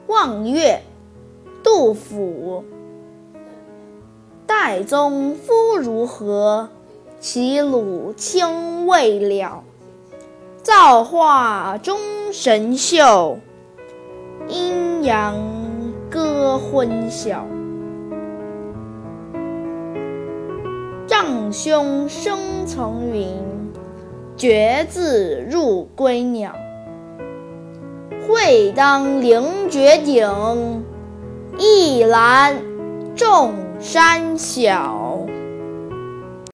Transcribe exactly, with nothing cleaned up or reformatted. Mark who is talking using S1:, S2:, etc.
S1: 望岳，杜甫。岱宗夫如何？齐鲁青未了。造化钟神秀，阴阳割昏晓。丈兄生层云，决眦入归鸟。会当凌绝顶，一览众山小。